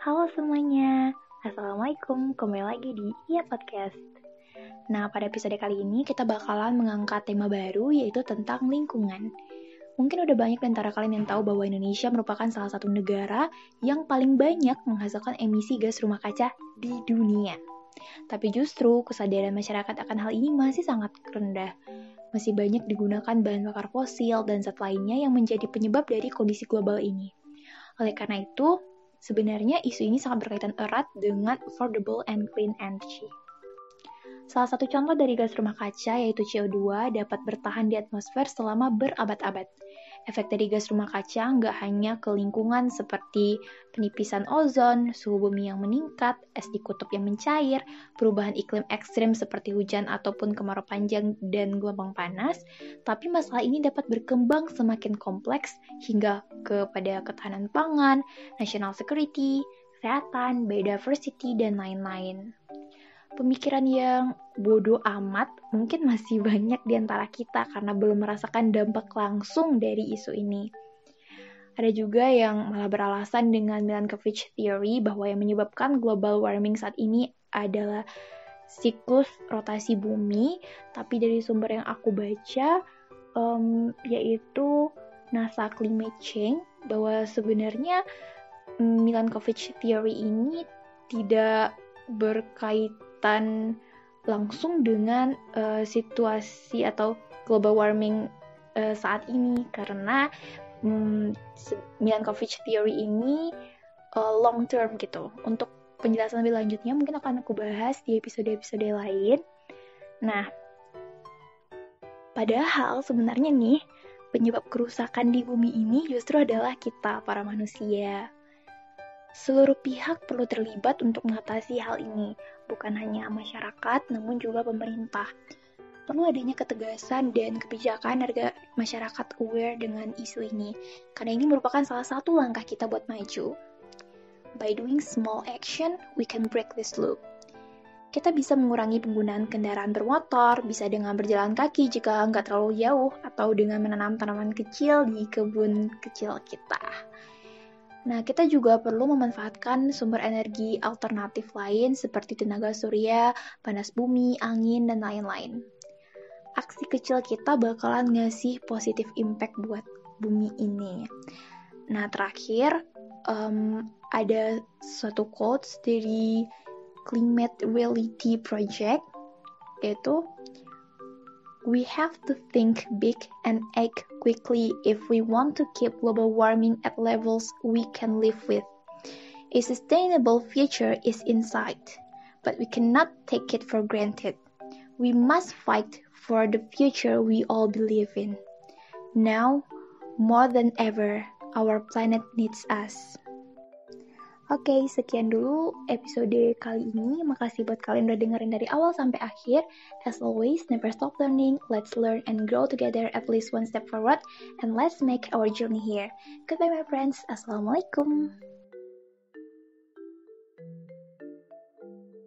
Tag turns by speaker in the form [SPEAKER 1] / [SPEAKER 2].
[SPEAKER 1] Halo semuanya, Assalamualaikum, kembali lagi di Iya Podcast. Nah, pada episode kali ini kita bakalan mengangkat tema baru yaitu tentang lingkungan. Mungkin udah banyak di antara kalian yang tahu bahwa Indonesia merupakan salah satu negara yang paling banyak menghasilkan emisi gas rumah kaca di dunia. Tapi justru kesadaran masyarakat akan hal ini masih sangat rendah. Masih banyak digunakan bahan bakar fosil dan zat lainnya yang menjadi penyebab dari kondisi global ini. Oleh karena itu, sebenarnya isu ini sangat berkaitan erat dengan affordable and clean energy. Salah satu contoh dari gas rumah kaca yaitu CO2 dapat bertahan di atmosfer selama berabad-abad. Efek dari gas rumah kaca nggak hanya ke lingkungan seperti penipisan ozon, suhu bumi yang meningkat, es di kutub yang mencair, perubahan iklim ekstrim seperti hujan ataupun kemarau panjang dan gelombang panas, tapi masalah ini dapat berkembang semakin kompleks hingga kepada ketahanan pangan, national security, kesehatan, biodiversity, dan lain-lain. Pemikiran yang bodoh amat mungkin masih banyak di antara kita karena belum merasakan dampak langsung dari isu ini. Ada juga yang malah beralasan dengan Milankovitch theory bahwa yang menyebabkan global warming saat ini adalah siklus rotasi bumi, tapi dari sumber yang aku baca yaitu NASA Climate Change, bahwa sebenarnya Milankovitch theory ini tidak berkaitan langsung dengan situasi atau global warming saat ini, karena Milankovitch theory ini long term gitu. Untuk penjelasan lebih lanjutnya mungkin akan aku bahas di episode-episode lain. Nah, padahal sebenarnya nih penyebab kerusakan di bumi ini justru adalah kita, para manusia. Seluruh pihak perlu terlibat untuk mengatasi hal ini, bukan hanya masyarakat, namun juga pemerintah. Perlu adanya ketegasan dan kebijakan agar masyarakat aware dengan isu ini, karena ini merupakan salah satu langkah kita buat maju. By doing small action, we can break this loop. Kita bisa mengurangi penggunaan kendaraan bermotor, bisa dengan berjalan kaki jika nggak terlalu jauh, atau dengan menanam tanaman kecil di kebun kecil kita. Nah, kita juga perlu memanfaatkan sumber energi alternatif lain seperti tenaga surya, panas bumi, angin, dan lain-lain. Aksi kecil kita bakalan ngasih positive impact buat bumi ini. Nah, terakhir, ada suatu quotes dari Climate Reality Project, yaitu we have to think big and act quickly if we want to keep global warming at levels we can live with. A sustainable future is in sight, but we cannot take it for granted. We must fight for the future we all believe in. Now, more than ever, our planet needs us. Oke, sekian dulu episode kali ini. Makasih buat kalian udah dengerin dari awal sampai akhir. As always, never stop learning. Let's learn and grow together at least one step forward. And let's make our journey here. Goodbye my friends. Assalamualaikum.